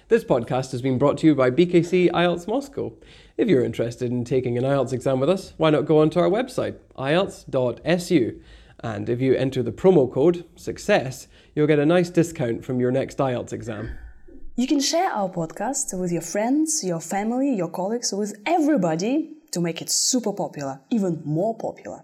This podcast has been brought to you by BKC IELTS Moscow. If you're interested in taking an IELTS exam with us, why not go onto our website, ielts.su. And if you enter the promo code, SUCCESS, you'll get a nice discount from your next IELTS exam. You can share our podcast with your friends, your family, your colleagues, with everybody to make it super popular, even more popular.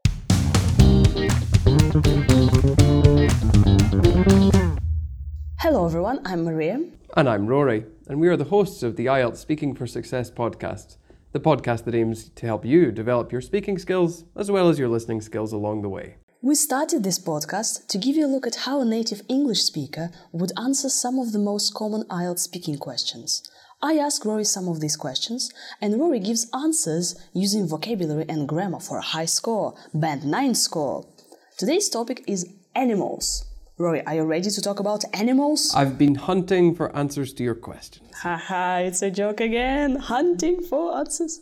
Hello everyone, I'm Maria. And I'm Rory, and we are the hosts of the IELTS Speaking for Success podcast, the podcast that aims to help you develop your speaking skills as well as your listening skills along the way. We started this podcast to give you a look at how a native English speaker would answer some of the most common IELTS speaking questions. I ask Rory some of these questions, and Rory gives answers using vocabulary and grammar for a high score, Band 9 score. Today's topic is animals. Rory, are you ready to talk about animals? I've been hunting for answers to your questions. Haha, it's a joke again. Hunting for answers.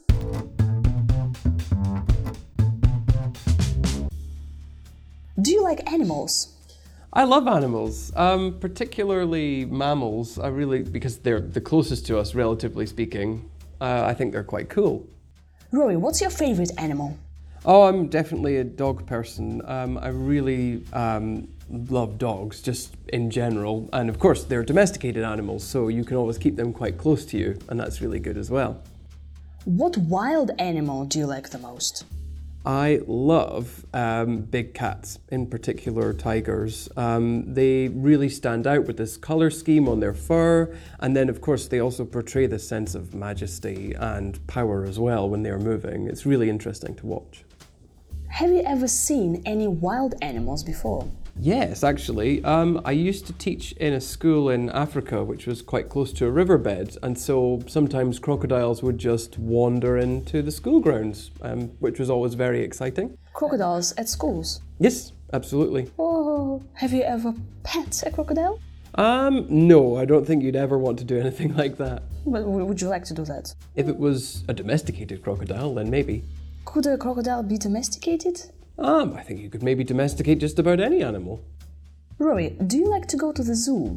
Do you like animals? I love animals, particularly mammals. Because they're the closest to us, relatively speaking. I think they're quite cool. Rory, what's your favorite animal? Oh, I'm definitely a dog person. I really love dogs, just in general. And of course, they're domesticated animals, so you can always keep them quite close to you, and that's really good as well. What wild animal do you like the most? I love big cats, in particular tigers. They really stand out with this colour scheme on their fur, and then of course they also portray this sense of majesty and power as well when they're moving. It's really interesting to watch. Have you ever seen any wild animals before? Yes, actually. I used to teach in a school in Africa, which was quite close to a riverbed, and so sometimes crocodiles would just wander into the school grounds, which was always very exciting. Crocodiles at schools? Yes, absolutely. Oh, have you ever pet a crocodile? No, I don't think you'd ever want to do anything like that. But would you like to do that? If it was a domesticated crocodile, then maybe. Could a crocodile be domesticated? I think you could maybe domesticate just about any animal. Rory, do you like to go to the zoo?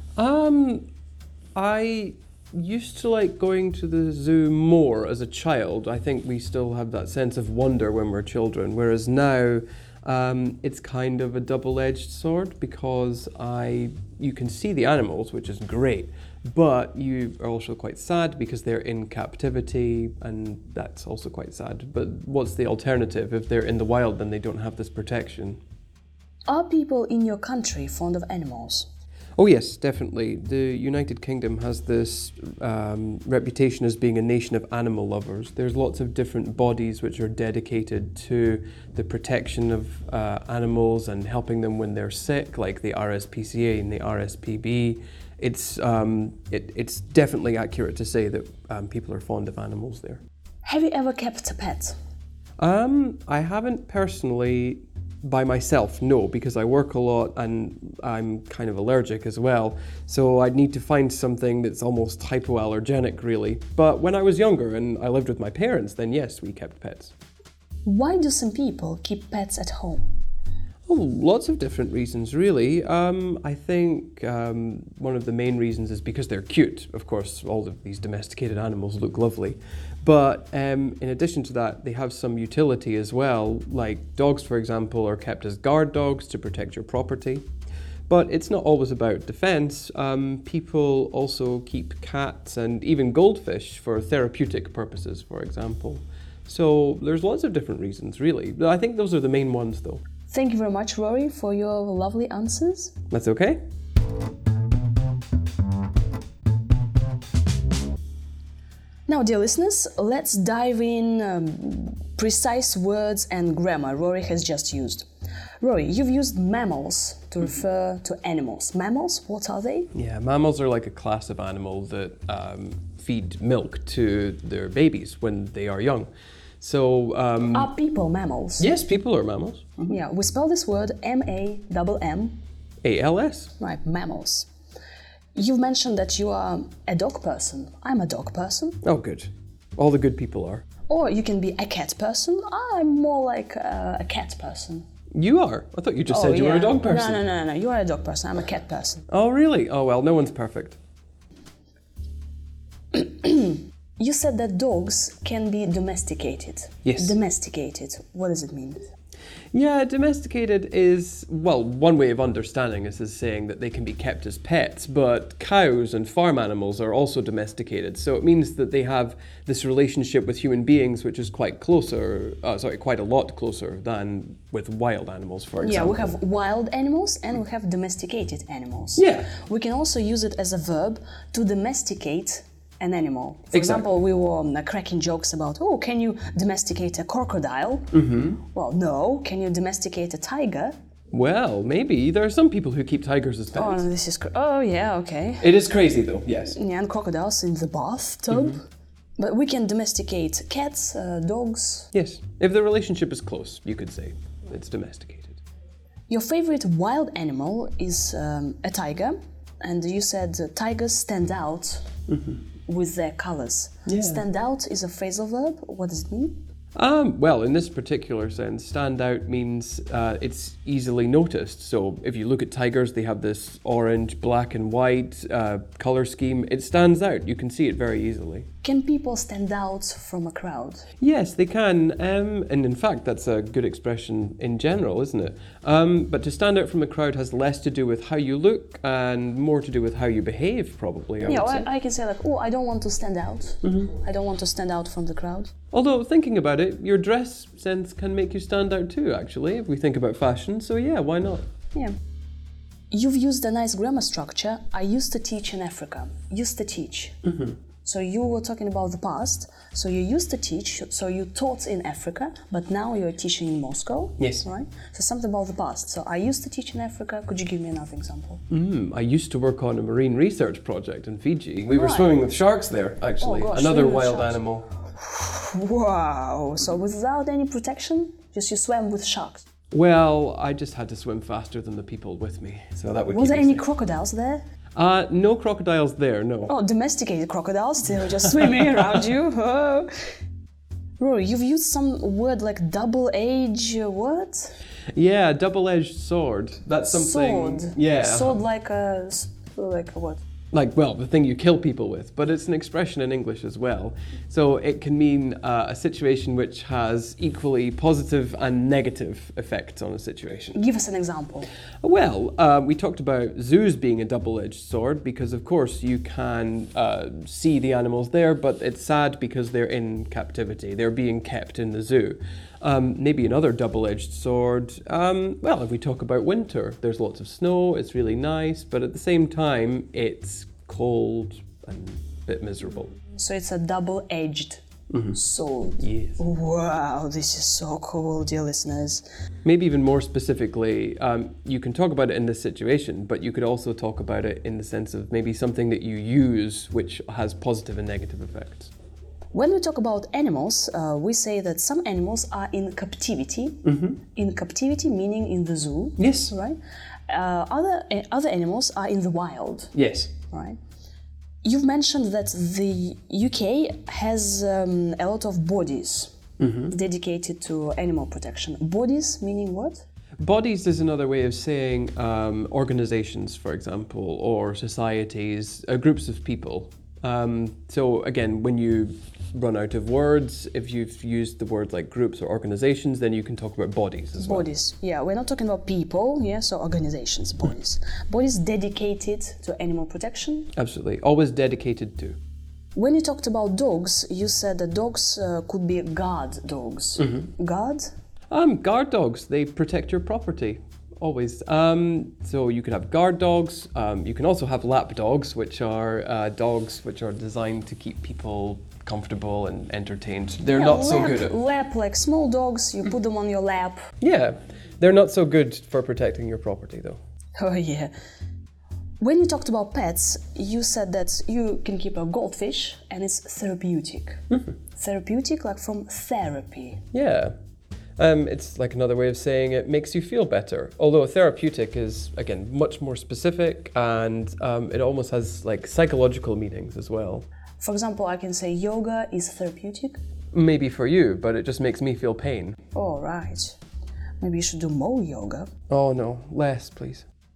I used to like going to the zoo more as a child. I think we still have that sense of wonder when we're children, whereas now it's kind of a double-edged sword because you can see the animals, which is great, but you are also quite sad because they're in captivity, and that's also quite sad. But what's the alternative? If they're in the wild, then they don't have this protection. Are people in your country fond of animals? Oh yes, definitely. The United Kingdom has this reputation as being a nation of animal lovers. There's lots of different bodies which are dedicated to the protection of animals and helping them when they're sick, like the RSPCA and the RSPB. It's definitely accurate to say that people are fond of animals there. Have you ever kept a pet? I haven't personally by myself, no, because I work a lot and I'm kind of allergic as well. So I'd need to find something that's almost hypoallergenic, really. But when I was younger and I lived with my parents, then yes, we kept pets. Why do some people keep pets at home? Oh, lots of different reasons, really. I think one of the main reasons is because they're cute. Of course, all of these domesticated animals look lovely. But in addition to that, they have some utility as well. Like dogs, for example, are kept as guard dogs to protect your property. But it's not always about defense. People also keep cats and even goldfish for therapeutic purposes, for example. So there's lots of different reasons, really. I think those are the main ones, though. Thank you very much, Rory, for your lovely answers. That's okay. Now, dear listeners, let's dive in precise words and grammar Rory has just used. Rory, you've used mammals to refer to animals. Mammals, what are they? Yeah, mammals are like a class of animal that feed milk to their babies when they are young. So, are people mammals? Yes, people are mammals. Mm-hmm. Yeah, we spell this word M-A-M-M. A-L-S. Right, mammals. You've mentioned that you are a dog person. I'm a dog person. Oh, good. All the good people are. Or you can be a cat person. I'm more like a cat person. You are? I thought you just said you were a dog person. No. You are a dog person. I'm a cat person. Oh, really? Oh, well, no one's perfect. You said that dogs can be domesticated. Yes. Domesticated. What does it mean? Yeah, domesticated is, well, one way of understanding this is saying that they can be kept as pets, but cows and farm animals are also domesticated. So it means that they have this relationship with human beings, which is quite quite a lot closer than with wild animals, for example. Yeah, we have wild animals and we have domesticated animals. Yeah. We can also use it as a verb to domesticate an animal. For Exactly. example, we were cracking jokes about, oh, can you domesticate a crocodile? Mm-hmm. Well, no. Can you domesticate a tiger? Well, maybe. There are some people who keep tigers as pets. Oh, this is... oh, yeah, okay. It is crazy, though, yes. Yeah, and crocodiles in the bathtub. Mm-hmm. But we can domesticate cats, dogs. Yes. If the relationship is close, you could say it's domesticated. Your favorite wild animal is a tiger. And you said tigers stand out with their colors. Yeah. Stand out is a phrasal verb. What does it mean? Well, in this particular sense, stand out means it's easily noticed. So if you look at tigers, they have this orange, black and white color scheme. It stands out. You can see it very easily. Can people stand out from a crowd? Yes, they can. And in fact, that's a good expression in general, isn't it? But to stand out from a crowd has less to do with how you look and more to do with how you behave, probably, I would say. I can say like, oh, I don't want to stand out. Mm-hmm. I don't want to stand out from the crowd. Although, thinking about it, your dress sense can make you stand out too, actually, if we think about fashion. So yeah, why not? Yeah. You've used a nice grammar structure. I used to teach in Africa. Used to teach. Mm-hmm. So you were talking about the past. So you used to teach, so you taught in Africa, but now you're teaching in Moscow. Yes. Right? So something about the past. So I used to teach in Africa. Could you give me another example? I used to work on a marine research project in Fiji. We were swimming with sharks there, actually. Oh, gosh, another wild animal. Wow. So without any protection, just you swam with sharks? Well, I just had to swim faster than the people with me. So that would Was keep there me any safe. crocodiles there? No crocodiles there, no. Oh, domesticated crocodiles, they were just swimming around you. Oh. Rory, you've used some word like double-edged what? Yeah, double-edged sword. That's something... Sword. Yeah. Sword like a what? Like, well, the thing you kill people with, but it's an expression in English as well. So it can mean a situation which has equally positive and negative effects on a situation. Give us an example. Well, we talked about zoos being a double-edged sword because, of course, you can see the animals there, but it's sad because they're in captivity. They're being kept in the zoo. Maybe another double-edged sword. Well, if we talk about winter, there's lots of snow, it's really nice, but at the same time, it's cold and a bit miserable. So it's a double-edged sword. Yes. Wow, this is so cool, dear listeners. Maybe even more specifically, you can talk about it in this situation, but you could also talk about it in the sense of maybe something that you use which has positive and negative effects. When we talk about animals, we say that some animals are in captivity. Mm-hmm. In captivity, meaning in the zoo. Yes. Right. Other animals are in the wild. Yes. Right. You've mentioned that the UK has a lot of bodies dedicated to animal protection. Bodies meaning what? Bodies is another way of saying organizations, for example, or societies, groups of people. So again, when you run out of words, if you've used the words like groups or organizations, then you can talk about bodies as well. Bodies, yeah. We're not talking about people, yeah, so organizations, bodies. Bodies dedicated to animal protection. Absolutely. Always dedicated to. When you talked about dogs, you said that dogs could be guard dogs. Mm-hmm. Guard? Guard dogs, they protect your property. Always. So you could have guard dogs. You can also have lap dogs, which are dogs which are designed to keep people comfortable and entertained. They're not so good at... Lap, like small dogs, you put them on your lap. Yeah, they're not so good for protecting your property, though. Oh, yeah. When you talked about pets, you said that you can keep a goldfish and it's therapeutic. Mm-hmm. Therapeutic, like from therapy. Yeah. It's like another way of saying it makes you feel better. Although therapeutic is, again, much more specific and it almost has like psychological meanings as well. For example, I can say yoga is therapeutic. Maybe for you, but it just makes me feel pain. Oh, right. Maybe you should do more yoga. Oh no, less, please.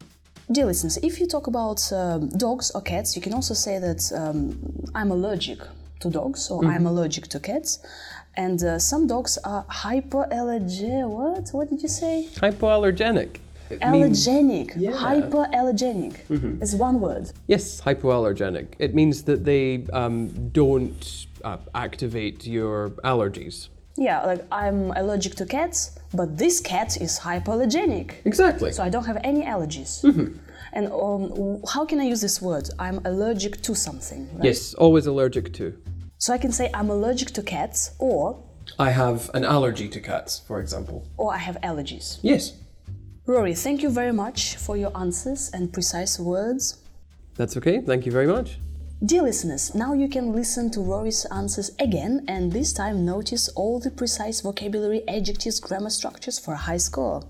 Dear listeners, if you talk about dogs or cats, you can also say that I'm allergic to dogs or I'm allergic to cats. And some dogs are hypoallergenic. What did you say? Hypoallergenic. Allergenic. Yeah. Hypoallergenic. It's one word. Yes, hypoallergenic. It means that they don't activate your allergies. Yeah, like I'm allergic to cats, but this cat is hypoallergenic. Exactly. So I don't have any allergies. And how can I use this word? I'm allergic to something. Right? Yes, always allergic to. So I can say I'm allergic to cats, or I have an allergy to cats, for example. I have allergies. Yes. Rory, thank you very much for your answers and precise words. That's okay, thank you very much. Dear listeners, now you can listen to Rory's answers again and this time notice all the precise vocabulary, adjectives, grammar structures for a high score.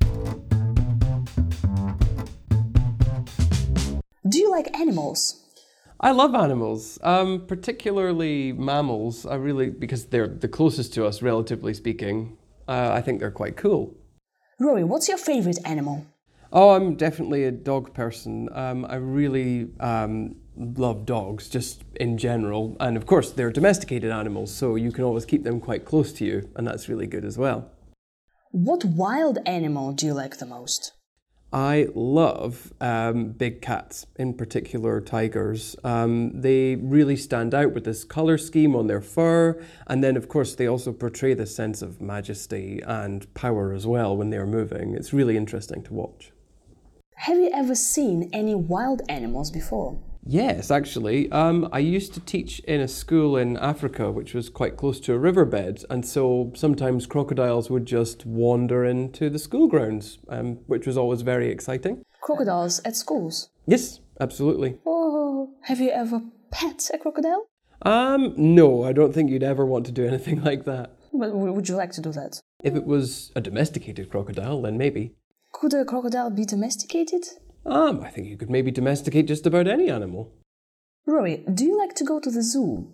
Do you like animals? I love animals, particularly mammals. Because they're the closest to us, relatively speaking. I think they're quite cool. Rory, what's your favorite animal? Oh, I'm definitely a dog person. I really love dogs, just in general. And of course, they're domesticated animals, so you can always keep them quite close to you, and that's really good as well. What wild animal do you like the most? I love big cats, in particular tigers. They really stand out with this colour scheme on their fur, and then of course they also portray this sense of majesty and power as well when they're moving. It's really interesting to watch. Have you ever seen any wild animals before? Yes, actually. I used to teach in a school in Africa, which was quite close to a riverbed, and so sometimes crocodiles would just wander into the school grounds, which was always very exciting. Crocodiles at schools? Yes, absolutely. Oh, have you ever pet a crocodile? No, I don't think you'd ever want to do anything like that. But would you like to do that? If it was a domesticated crocodile, then maybe. Could a crocodile be domesticated? I think you could maybe domesticate just about any animal. Rory, do you like to go to the zoo?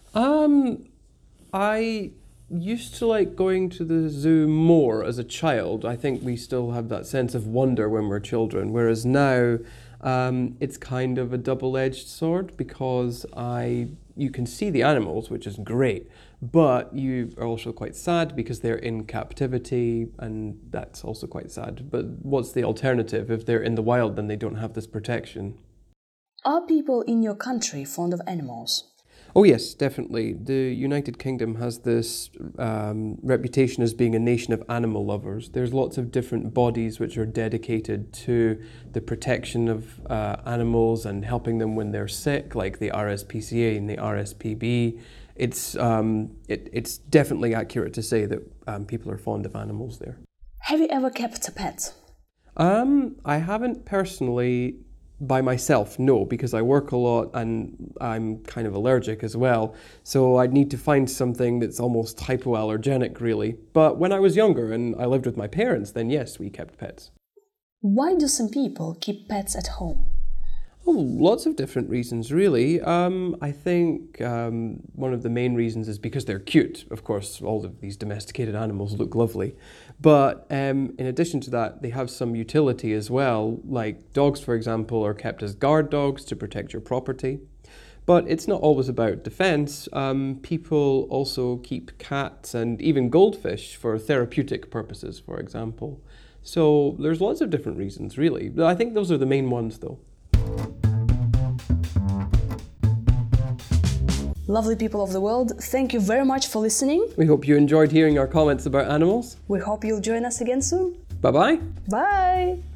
I used to like going to the zoo more as a child. I think we still have that sense of wonder when we're children, whereas now it's kind of a double-edged sword because you can see the animals, which is great, but you are also quite sad because they're in captivity, and that's also quite sad. But what's the alternative? If they're in the wild, then they don't have this protection. Are people in your country fond of animals? Oh yes, definitely. The United Kingdom has this reputation as being a nation of animal lovers. There's lots of different bodies which are dedicated to the protection of animals and helping them when they're sick, like the RSPCA and the RSPB. It's definitely accurate to say that people are fond of animals there. Have you ever kept a pet? I haven't personally. By myself, no, because I work a lot and I'm kind of allergic as well. So I'd need to find something that's almost hypoallergenic, really. But when I was younger and I lived with my parents, then yes, we kept pets. Why do some people keep pets at home? Oh, lots of different reasons, really. I think one of the main reasons is because they're cute. Of course, all of these domesticated animals look lovely. But in addition to that, they have some utility as well. Like dogs, for example, are kept as guard dogs to protect your property. But it's not always about defense. People also keep cats and even goldfish for therapeutic purposes, for example. So there's lots of different reasons, really. I think those are the main ones, though. Lovely people of the world, thank you very much for listening. We hope you enjoyed hearing our comments about animals. We hope you'll join us again soon. Bye-bye. Bye!